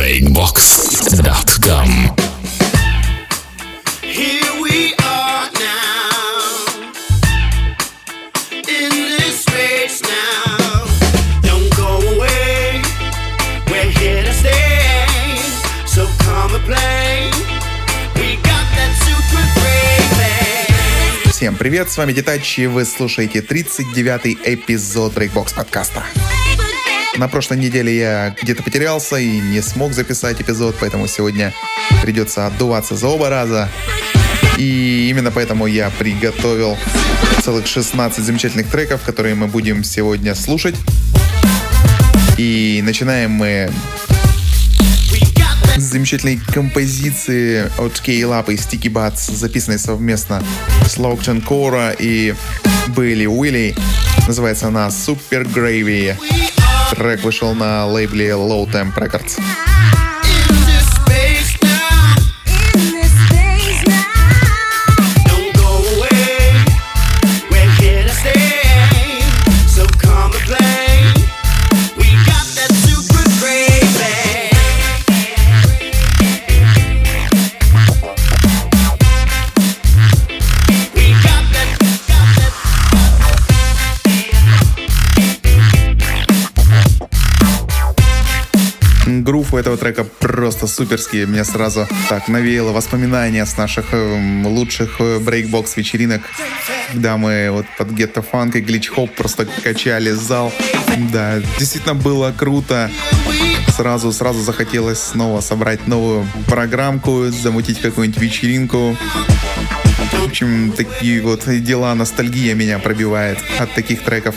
breakbox.com. Всем привет, с вами Детач, и вы слушаете 39-й эпизод Breakbox подкаста. На прошлой неделе я где-то потерялся и не смог записать эпизод, поэтому сегодня придется отдуваться за оба раза. И именно поэтому я приготовил целых 16 замечательных треков, которые мы будем сегодня слушать. И начинаем мы с замечательной композиции от Scale-Up и Sticky Butts, записанной совместно с Lockton Cora и Billy Willy. Называется она Super Gravy. Трек вышел на лейбле Low Temp Records. Грув у этого трека просто суперский. Меня сразу так навеяло воспоминания с наших лучших брейкбокс-вечеринок, когда мы вот под гетто-фанк и глич-хоп просто качали зал. Да, действительно было круто. Сразу захотелось снова собрать новую программку, замутить какую-нибудь вечеринку. В общем, такие вот дела, ностальгия меня пробивает от таких треков.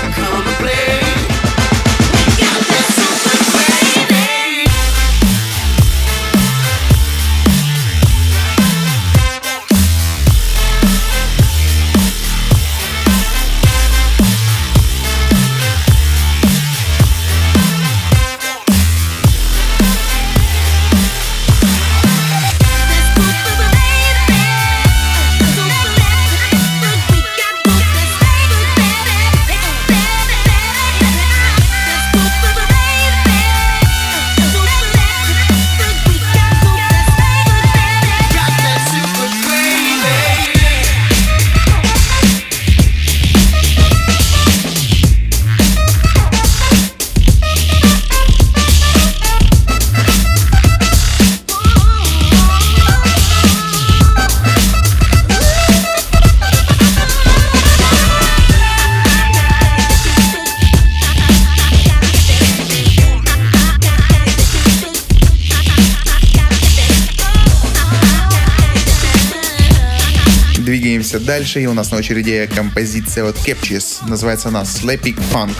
Двигаемся дальше, и у нас на очереди композиция от Captures. Называется она Slapping Funk.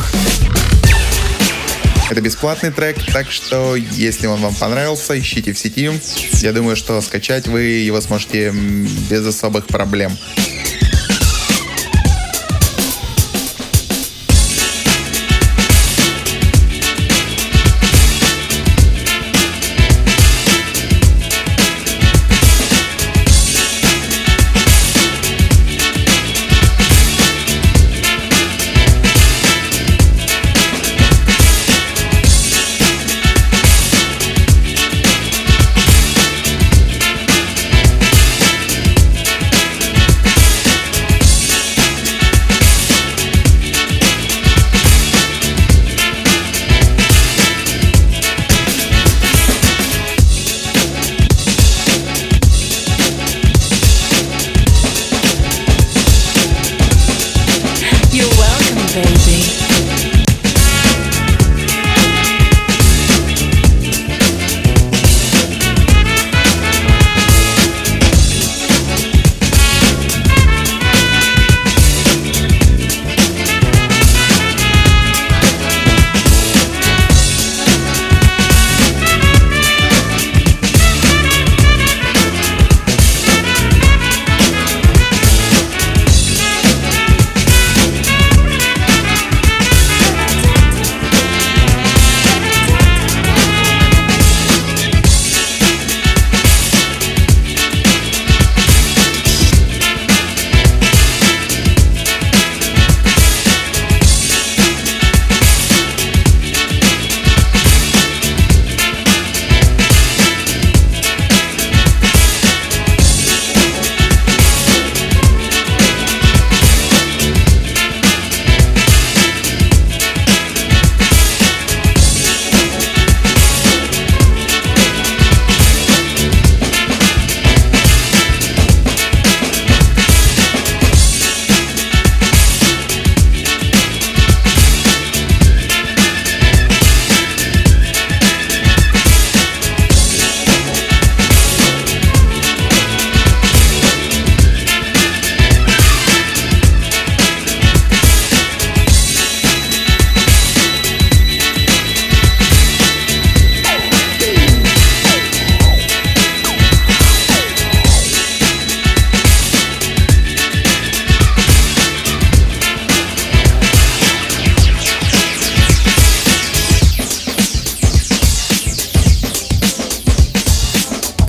Это бесплатный трек, так что если он вам понравился, ищите в сети. Я думаю, что скачать вы его сможете без особых проблем.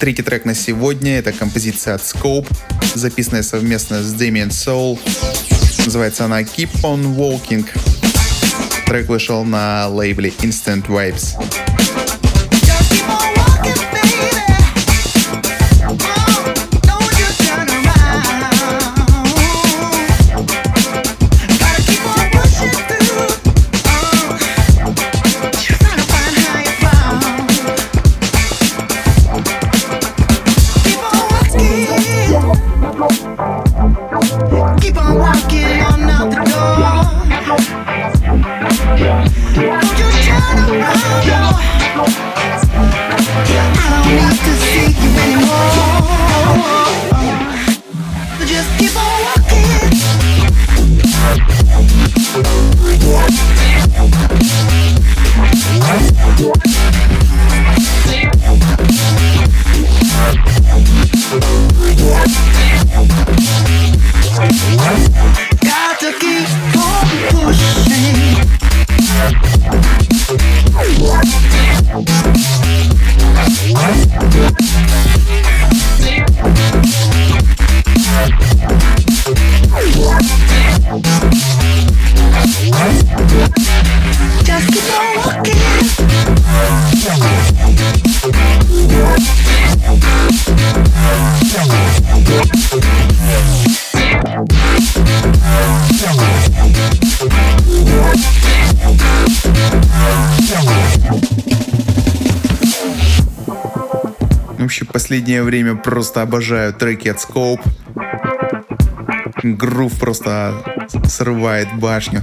Третий трек на сегодня — это композиция от Scope, записанная совместно с Damien Soul. Называется она Keep On Walking. Трек вышел на лейбле Instant Vibes. Вообще, в последнее время просто обожаю треки от Scope. Грув просто срывает башню.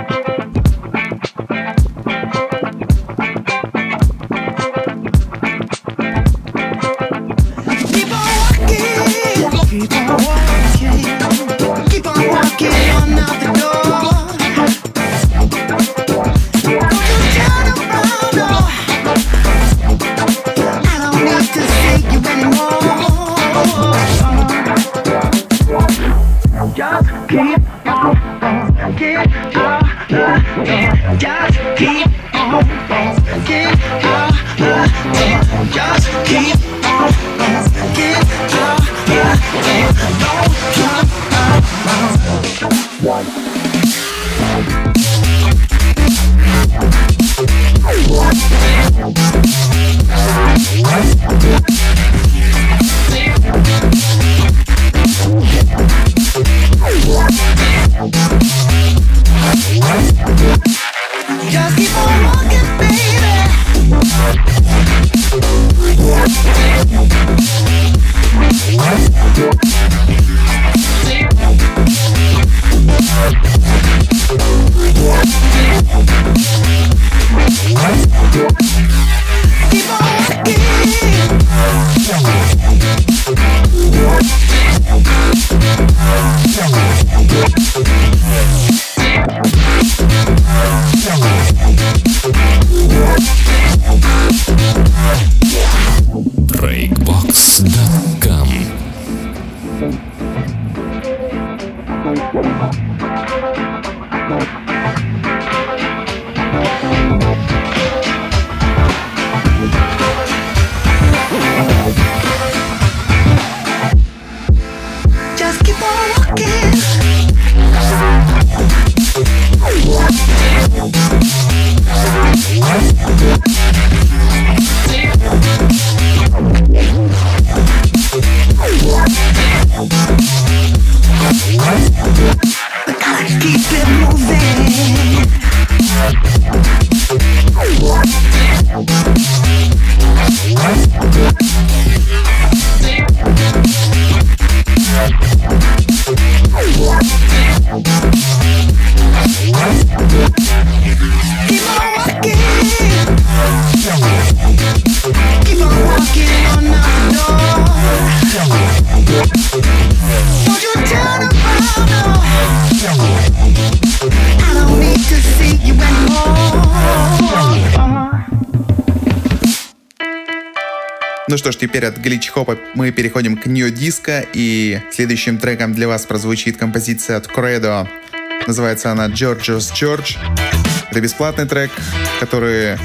Ну что ж, теперь от глич-хопа мы переходим к нью-диско, и следующим треком для вас прозвучит композиция от Credo. Называется она George's Church. Это бесплатный трек, который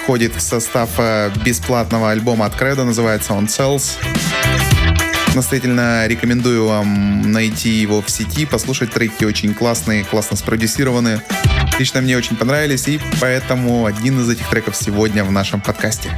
входит в состав бесплатного альбома от Credo, называется он Cells. Настоятельно рекомендую вам найти его в сети, послушать. Треки очень классные, классно спродюсированы. Лично мне очень понравились, и поэтому один из этих треков сегодня в нашем подкасте.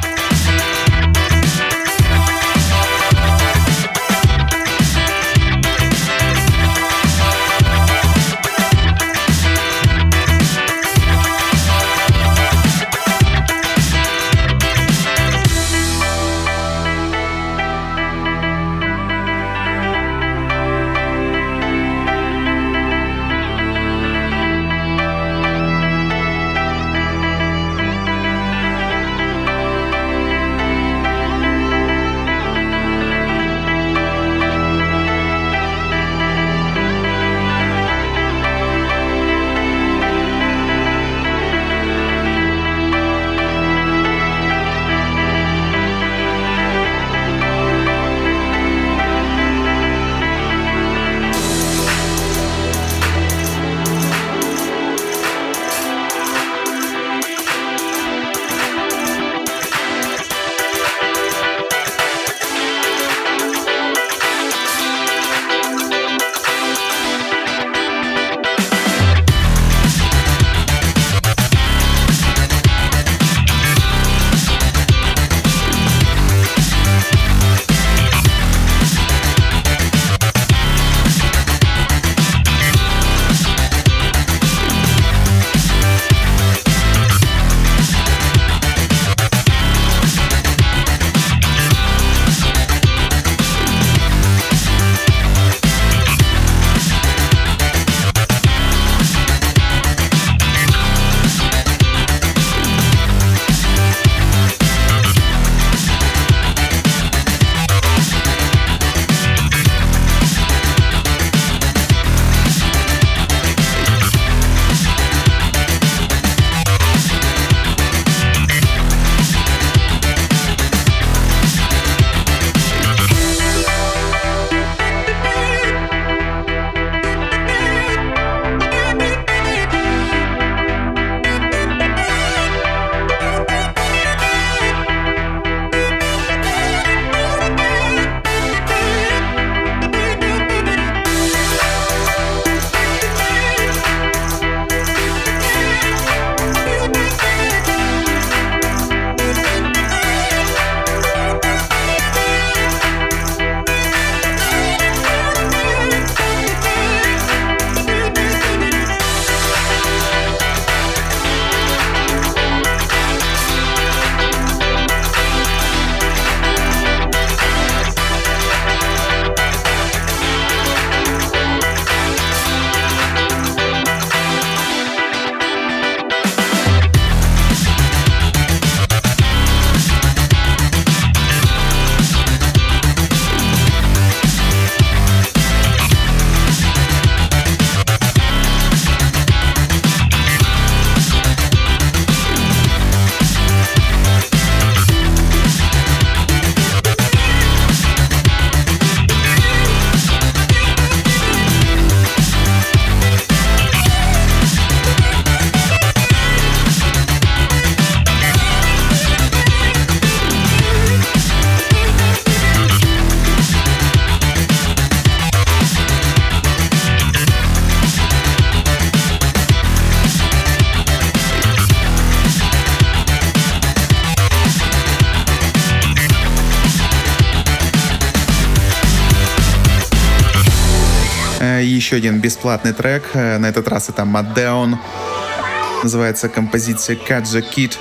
Еще один бесплатный трек, на этот раз это Maddown. Называется композиция Katja Kid.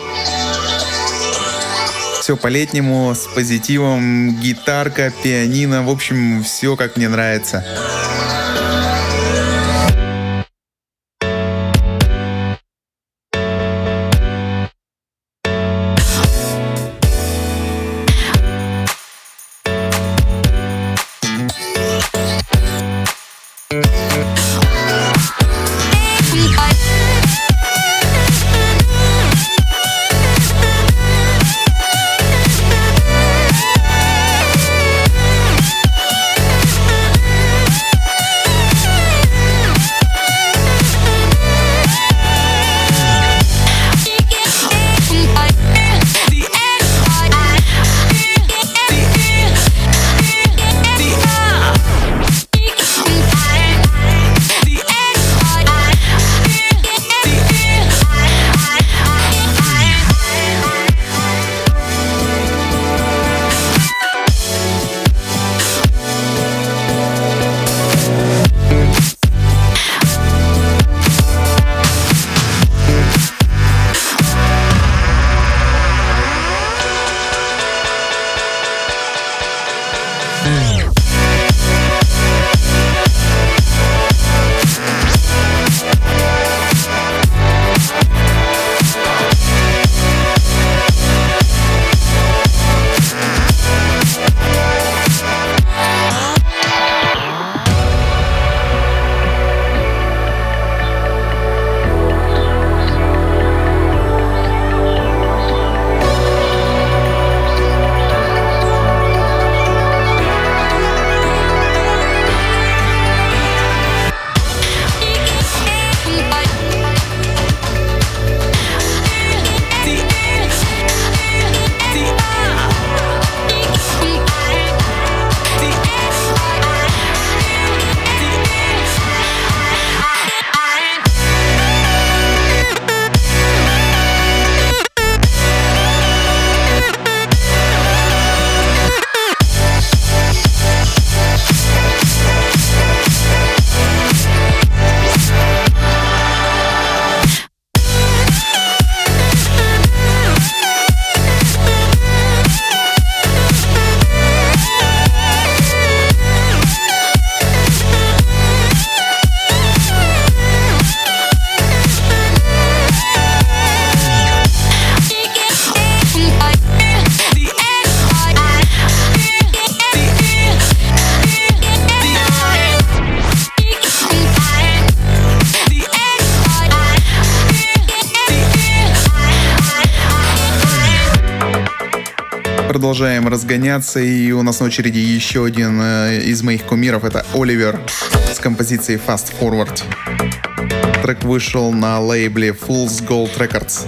Все по-летнему, с позитивом, гитарка, пианино, в общем, все как мне нравится. Продолжаем разгоняться, и у нас на очереди еще один из моих кумиров. Это Оливер с композицией Fast Forward. Трек вышел на лейбле Fool's Gold Records.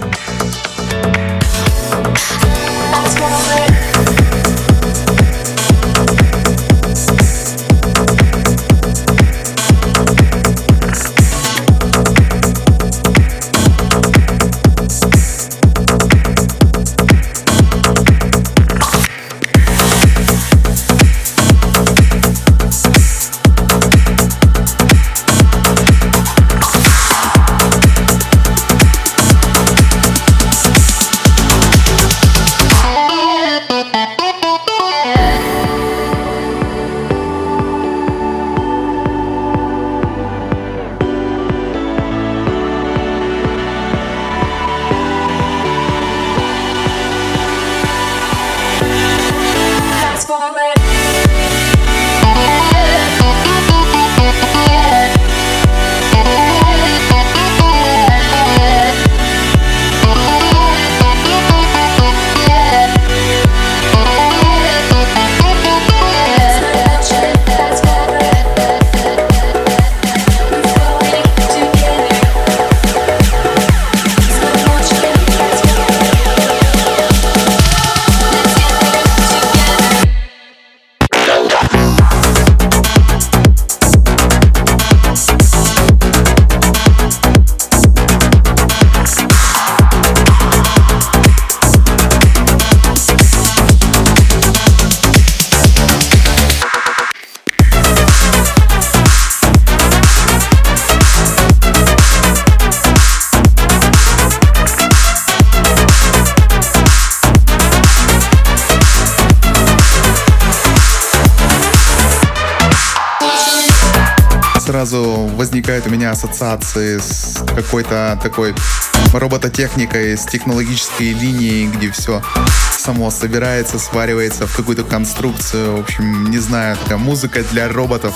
Сразу возникают у меня ассоциации с какой-то такой робототехникой, с технологической линией, где все само собирается, сваривается в какую-то конструкцию. В общем, не знаю, такая музыка для роботов.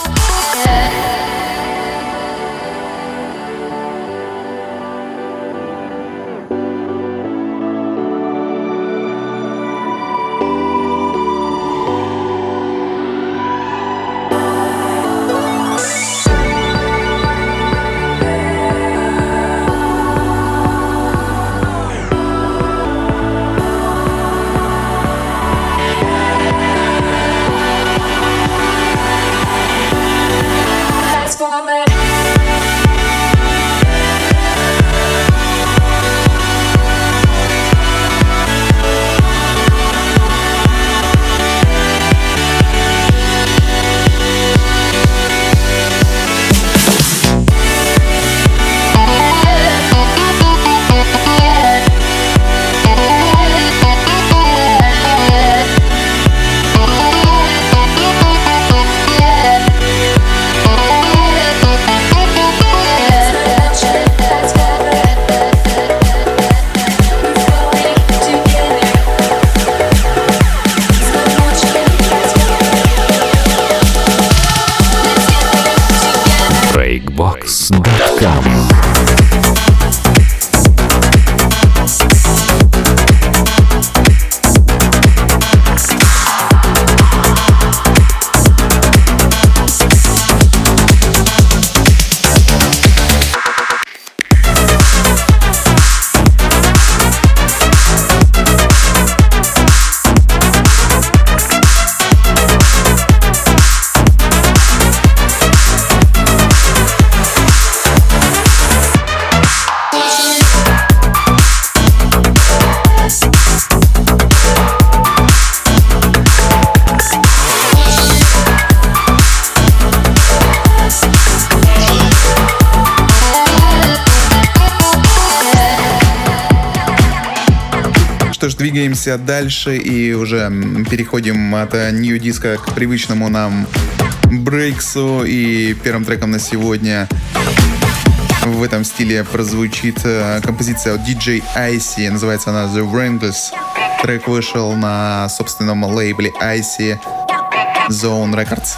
Breakbox.com. Что ж, двигаемся дальше и уже переходим от New Disco к привычному нам брейксу. И первым треком на сегодня в этом стиле прозвучит композиция от DJ Icy. Называется она The Wranglers. Трек вышел на собственном лейбле Icy Zone Records.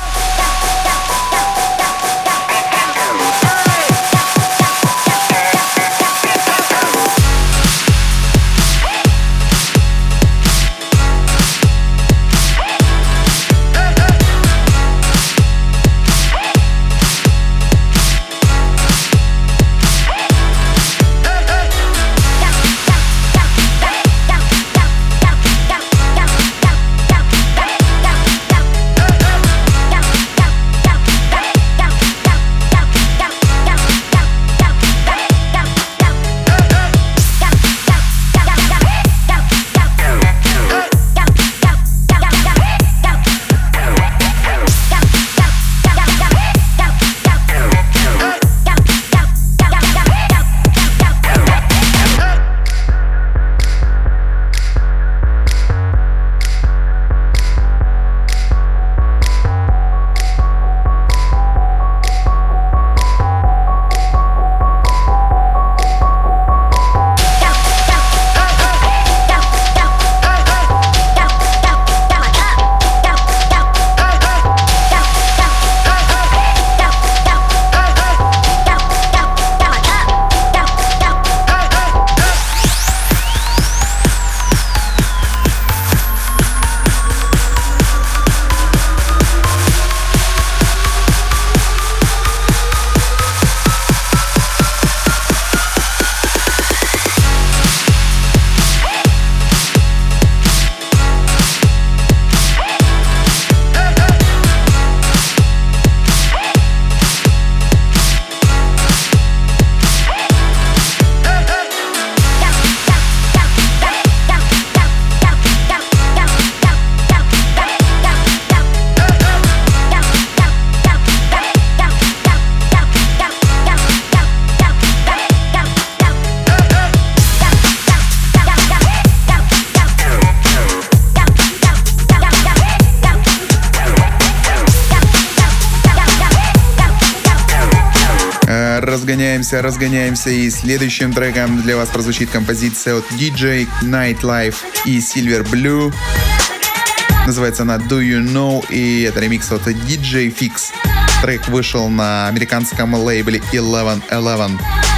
разгоняемся. И следующим треком для вас прозвучит композиция от DJ Nightlife и Silver Blue. Называется она Do You Know, и это ремикс от DJ Fix. Трек вышел на американском лейбле 1111.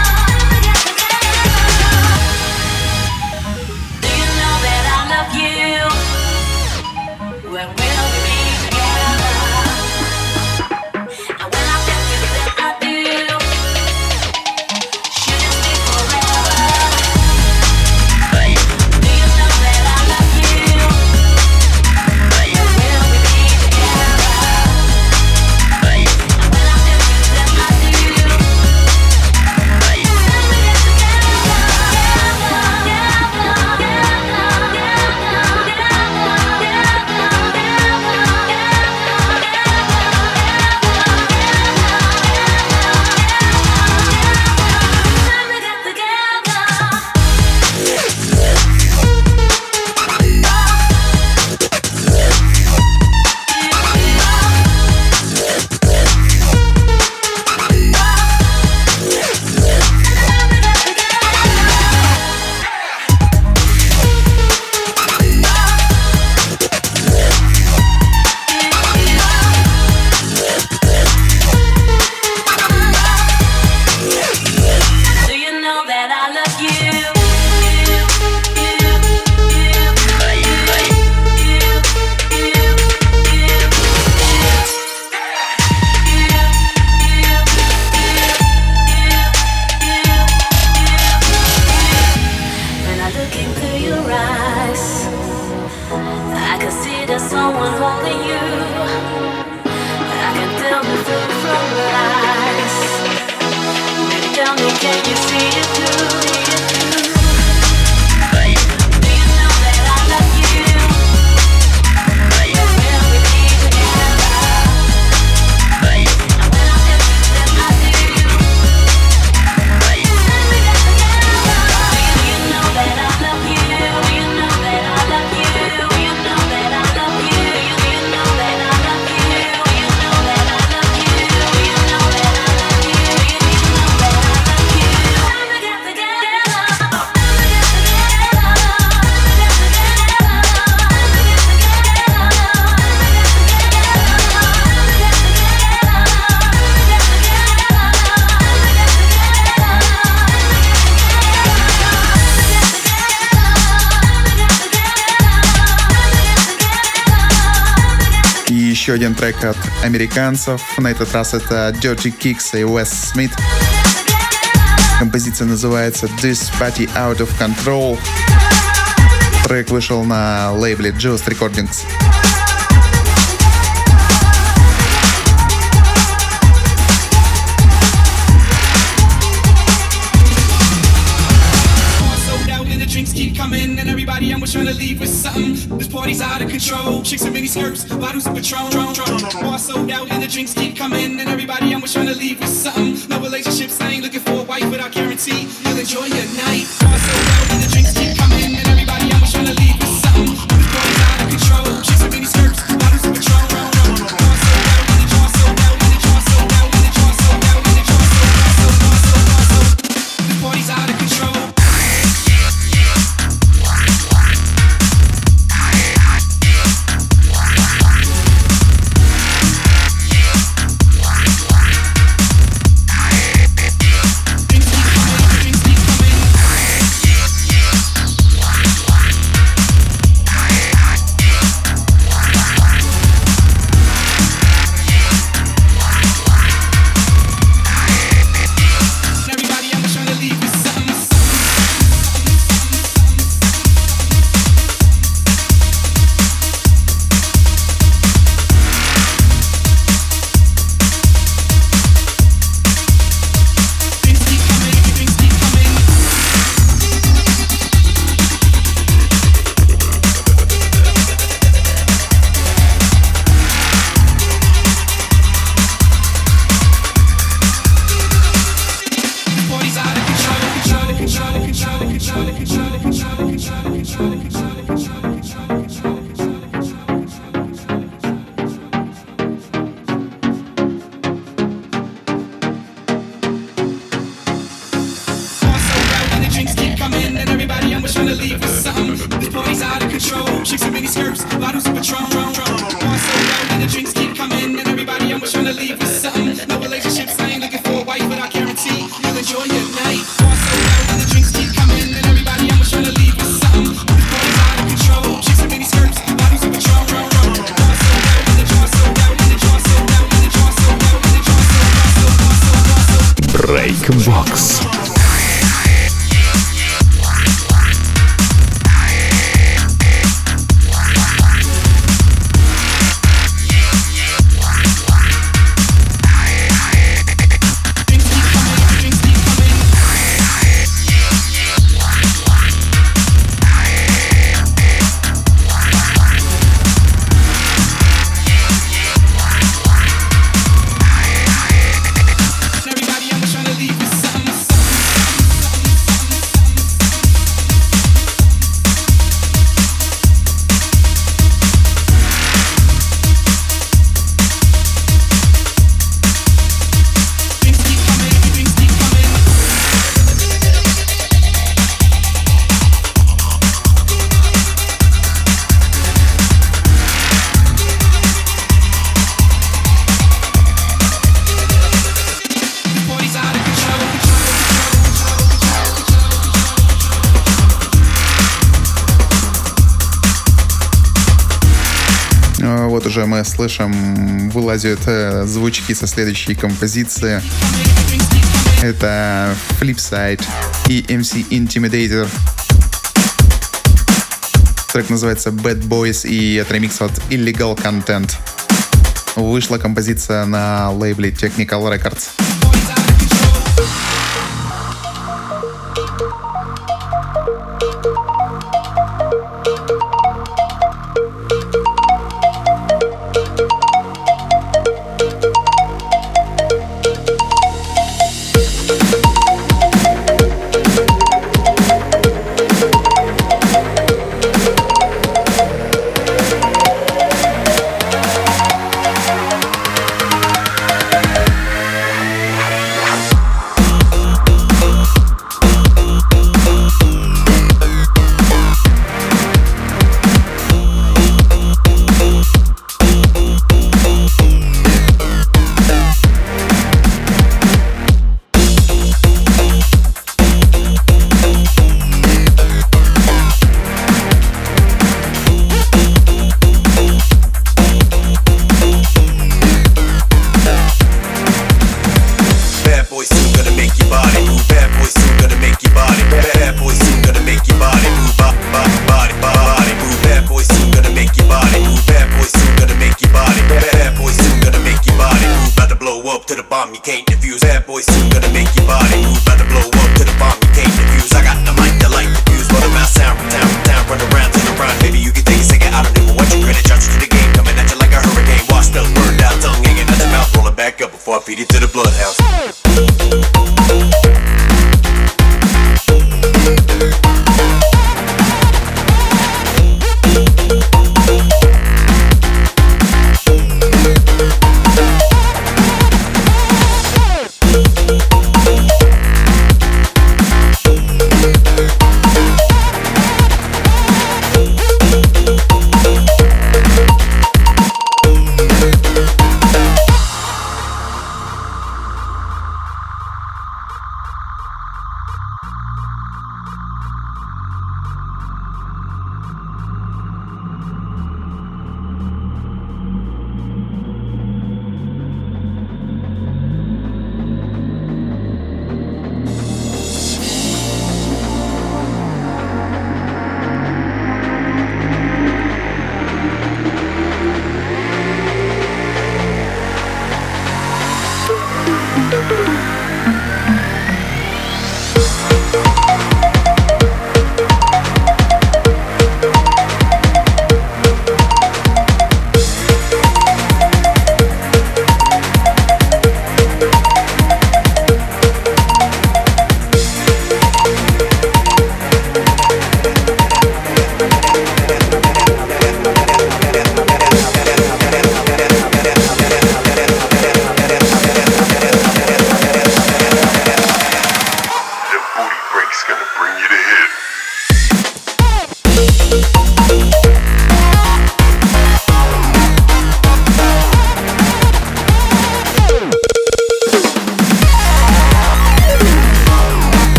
Еще один трек от американцев. На этот раз это Dirty Kicks и Wes Smith. Композиция называется This Party Out of Control. Трек вышел на лейбле Juice Recordings. Trying to leave with something. This party's out of control. Chicks in mini skirts, bottles of Patron. Bar sold out and the drinks keep coming. And everybody I'm trying to leave with something. No relationships, I ain't looking for a wife, but I guarantee you'll enjoy your night. Bar sold out and the drinks keep coming. And everybody I'm trying to leave with something. This party's out of control. Chicks in mini skirts, bottles of Patron. This party's out of control. skirts, bottles of Patron. Bar sold out and the drinks keep coming, and everybody I'm trying to leave with something. No relationships, I ain't looking for a wife, but I guarantee you'll enjoy your night. Bar sold out and the drinks keep coming, and everybody I'm trying to leave with something. This party's out of control. Chicks in mini skirts, bottles of Patron. Bar sold out and the jar sold out and the jar sold out and the jar sold out and the jar sold out. Breakbox. Вот уже мы слышим, вылазят звучки со следующей композиции. Это Flipside и MC Intimidator. Трек называется Bad Boys и это ремикс от Illegal Content. Вышла композиция на лейбле Technical Records.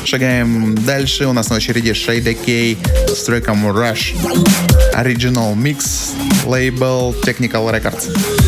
Шагаем дальше. У нас на очереди Shade K с треком Rush. Original Mix, лейбл Technical Records.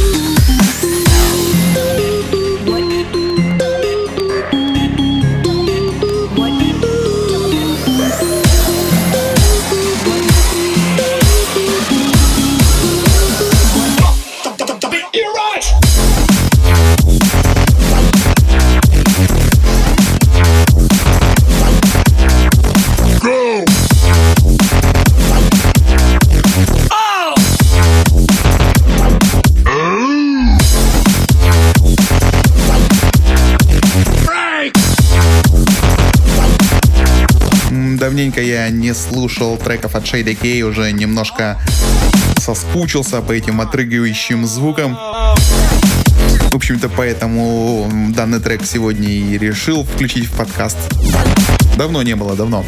Давненько я не слушал треков от Shade K, уже немножко соскучился по этим отрыгивающим звукам. В общем-то, поэтому данный трек сегодня и решил включить в подкаст. Давно не было, давно.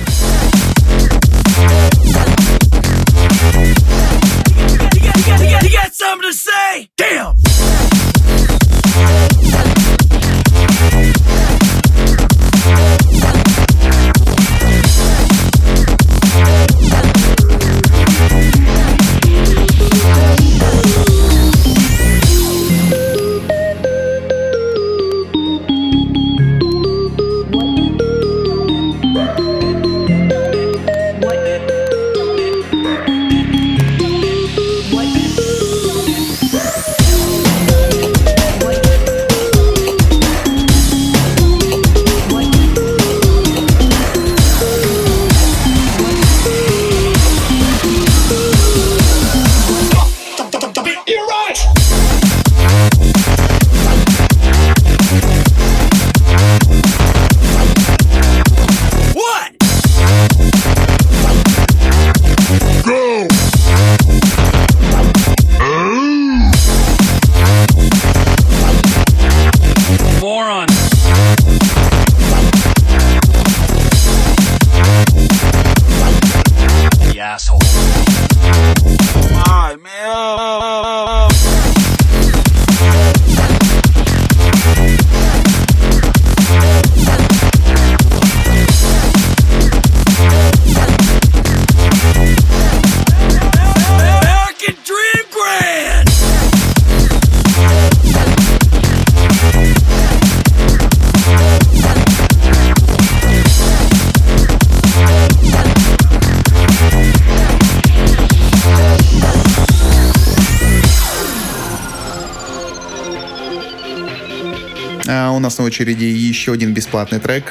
У нас на очереди еще один бесплатный трек.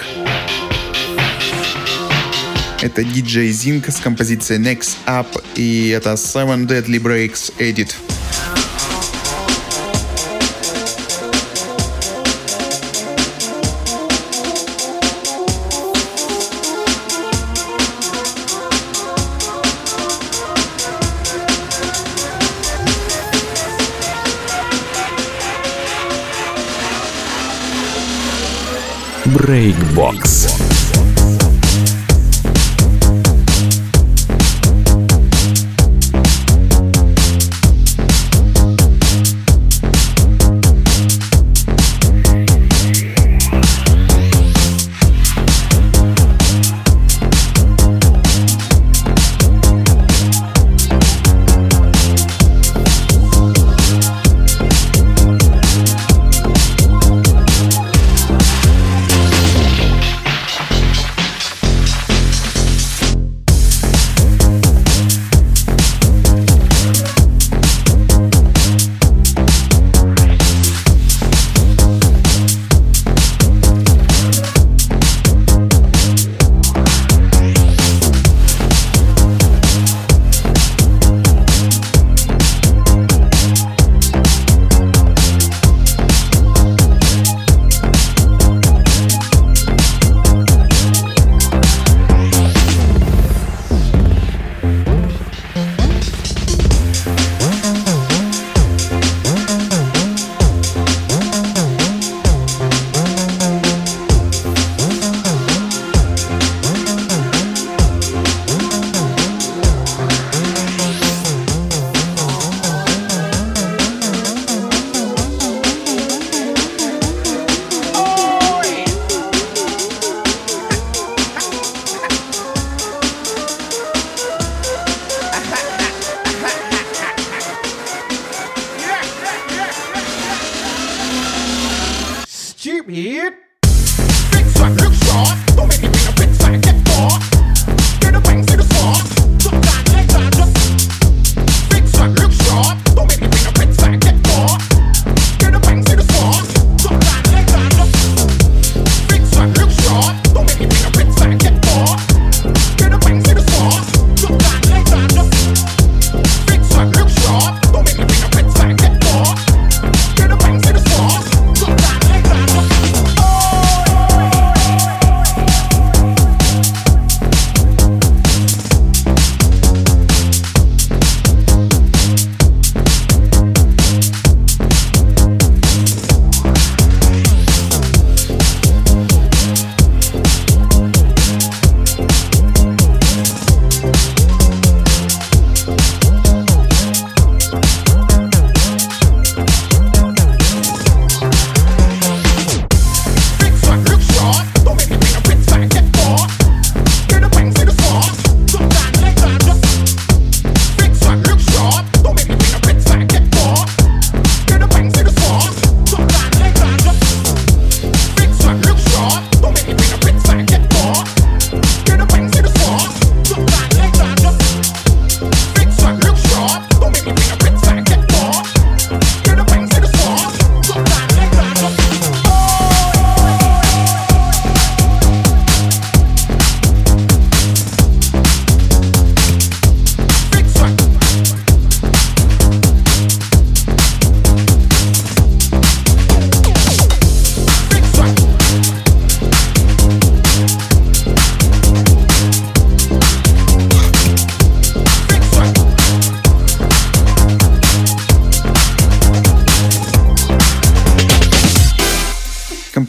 Это DJ Zinc с композицией Next Up, и это Seven Deadly Breaks Edit. Breakbox.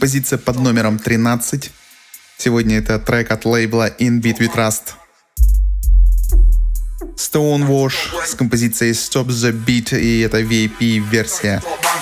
композиция под номером 13. Сегодня это трек от лейбла In Beat We Trust. Stonewash с композицией Stop the Beat, и это VIP-версия.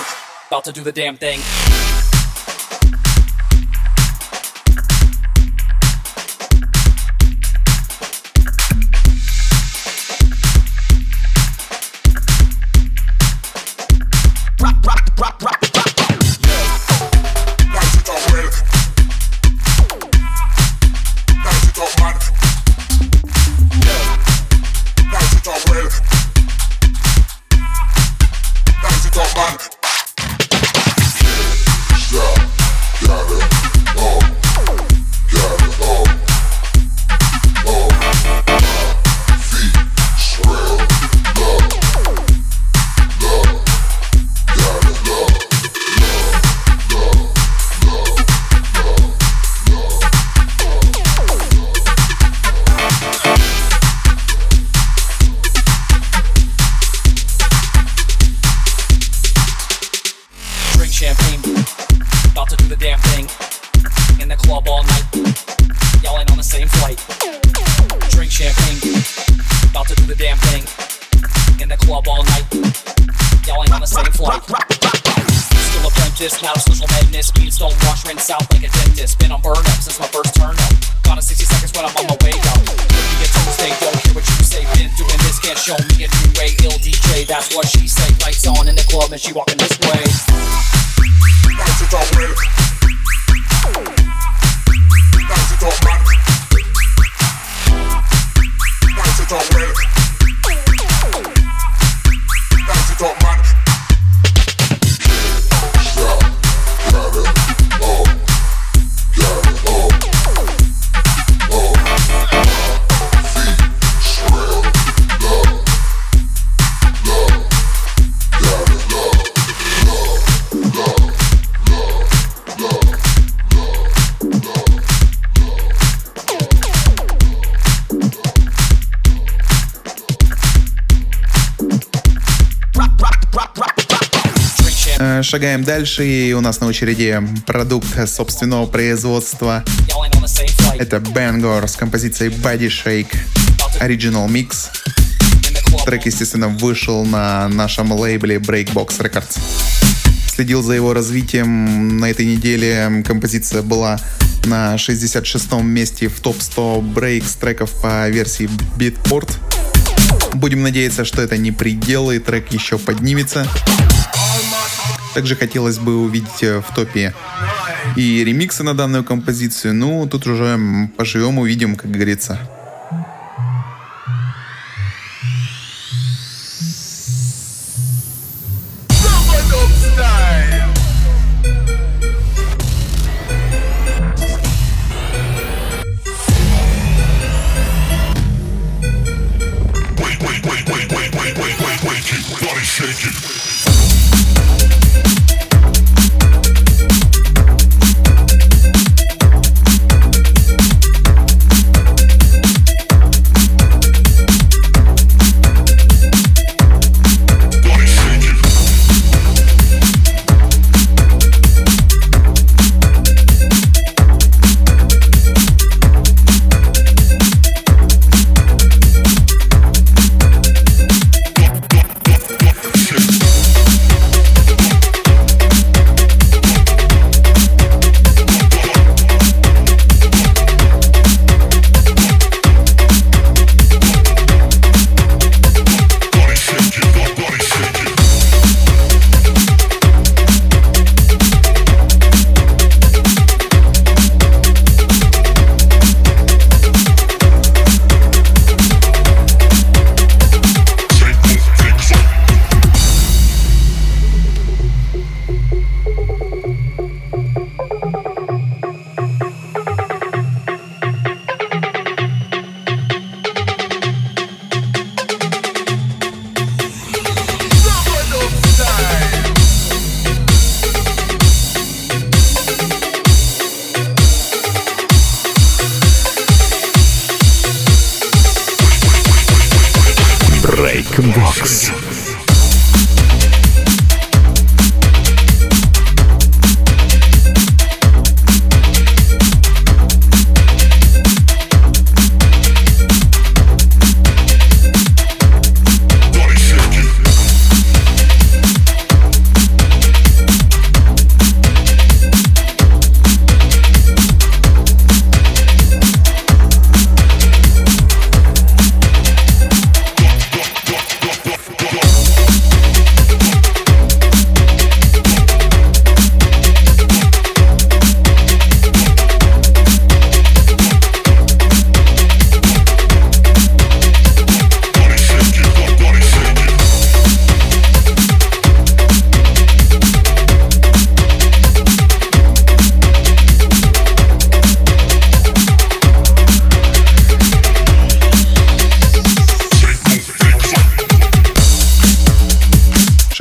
Now social madness, speed, stone wash, rinse out like a dentist. Been on burn up since my first turn up. Gone in 60 seconds when I'm on my way out. Look me a Tuesday, don't hear what you say. Been doing this, can't show me a new way. Ill DJ, that's what she say. Lights on in the club and she walking this way. Lights it all red. Lights it all man. Lights it all red. Lights it all man. Шагаем дальше, и у нас на очереди продукт собственного производства. Это Bangor с композицией Body Shake Original Mix. Трек, естественно, вышел на нашем лейбле Breakbox Records. Следил за его развитием. На этой неделе композиция была на 66-м месте в топ-100 брейкс треков по версии Beatport. Будем надеяться, что это не предел, и трек еще поднимется. Также хотелось бы увидеть в топе и ремиксы на данную композицию. Ну, тут уже поживем, увидим, как говорится. Breakbox.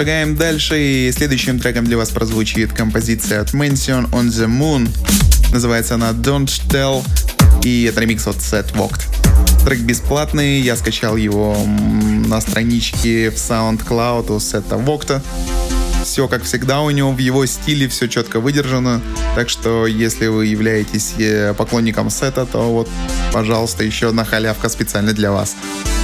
Шагаем дальше, и следующим треком для вас прозвучит композиция от Mansion on the Moon. Называется она Don't Tell, и это ремикс от Set Walked. Трек бесплатный, я скачал его на страничке в SoundCloud у Сета Вокта. Все как всегда у него, в его стиле все четко выдержано. Так что, если вы являетесь поклонником Сета, то вот, пожалуйста, еще одна халявка специально для вас.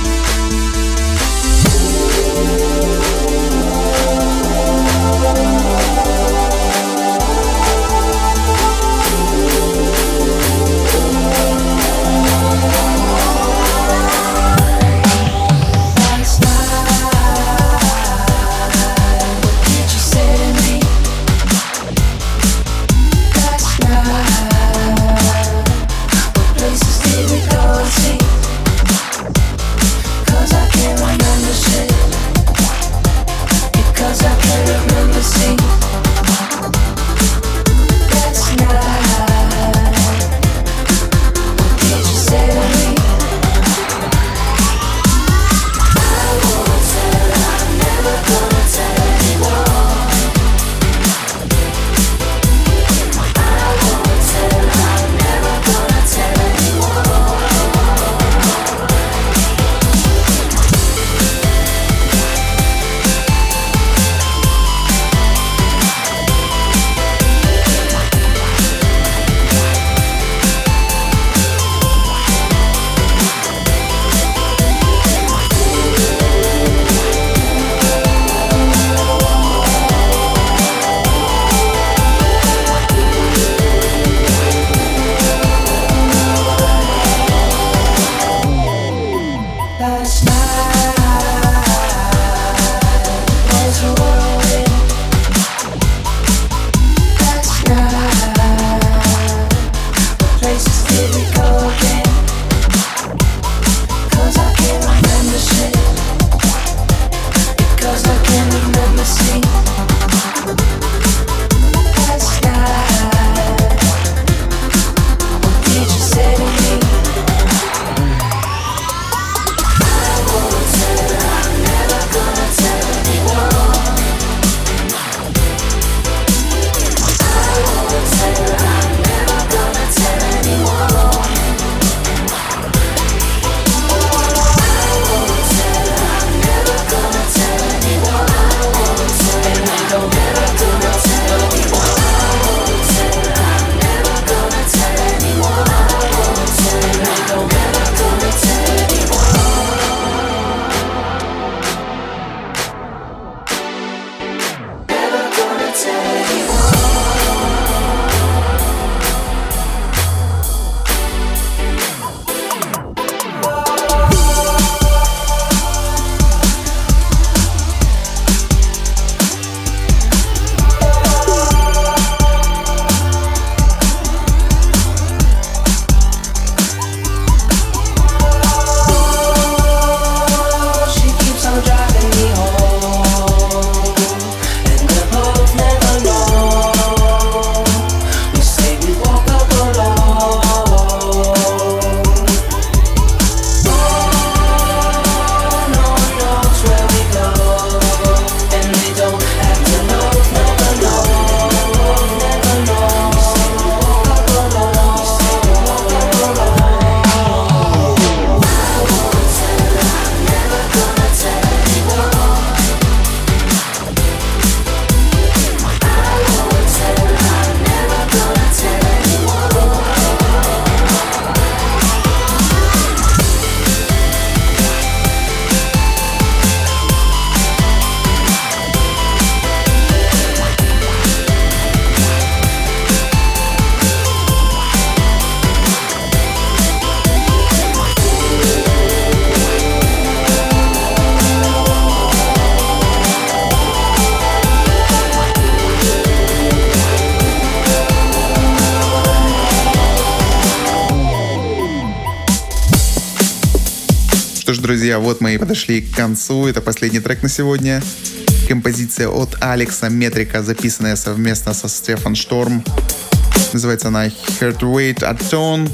Что ж, друзья, вот мы и подошли к концу. Это последний трек на сегодня. Композиция от Алекса Метрика, записанная совместно со Стефан Шторм. Называется она Heartweight Atone.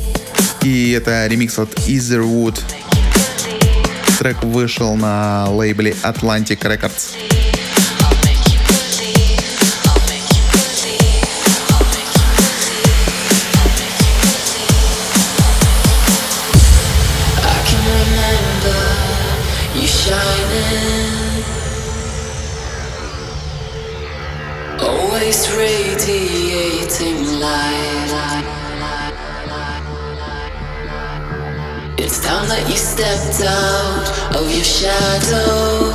И это ремикс от Etherwood. Трек вышел на лейбле Atlantic Records. It's time that you stepped out of your shadow.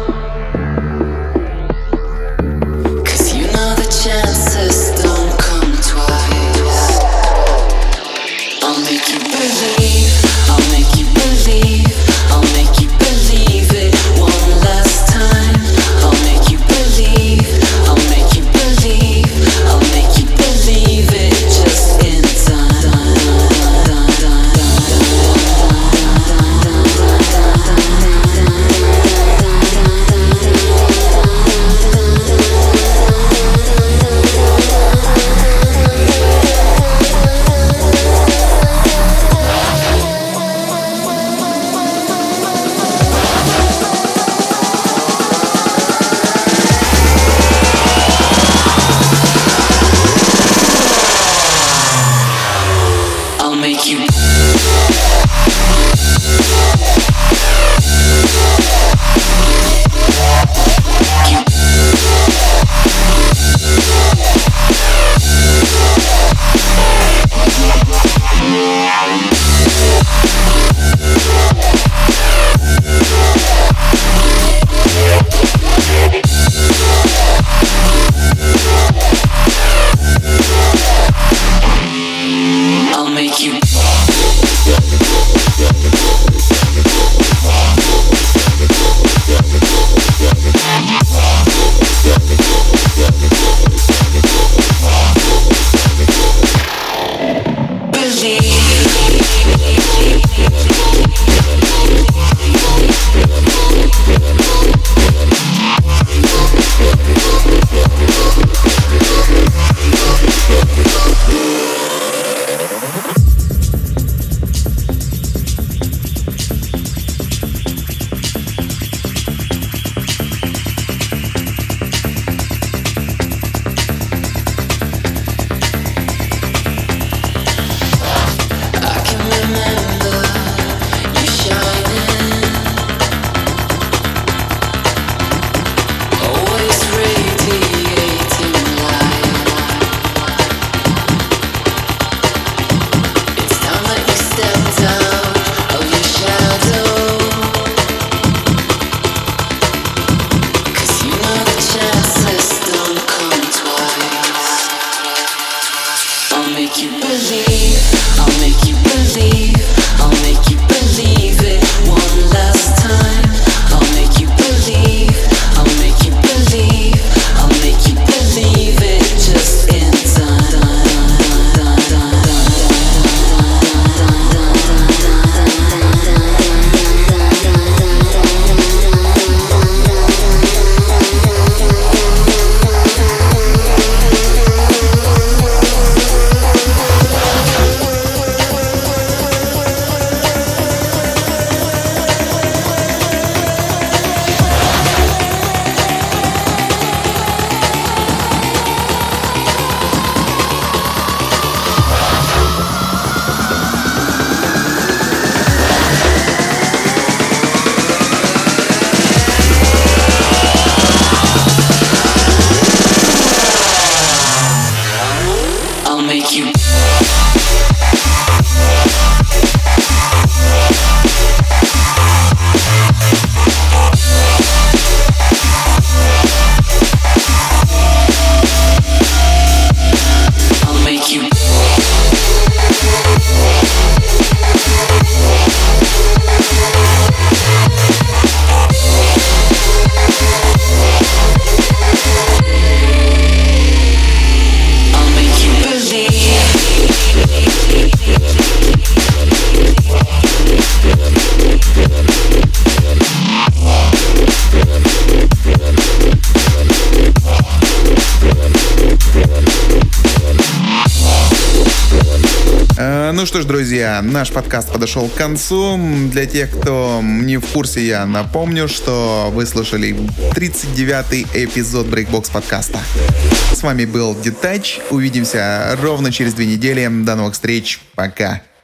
'Cause you know the chances don't come twice. I'll make you believe, I'll make you believe, I'll make you believe it one last time. I'll make you believe, I'll make you believe, I'll make you believe it just in time. I'll make you. I'll make you. Ну что ж, друзья, наш подкаст подошел к концу. Для тех, кто не в курсе, я напомню, что вы слушали 39-й эпизод Breakbox подкаста. С вами был Детач. Увидимся ровно через 2 недели. До новых встреч. Пока.